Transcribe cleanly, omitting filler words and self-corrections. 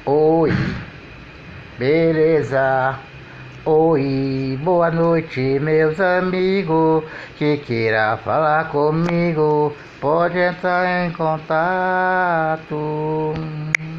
Oi, beleza? Oi, boa noite, meus amigos. Que queira falar comigo, pode entrar em contato.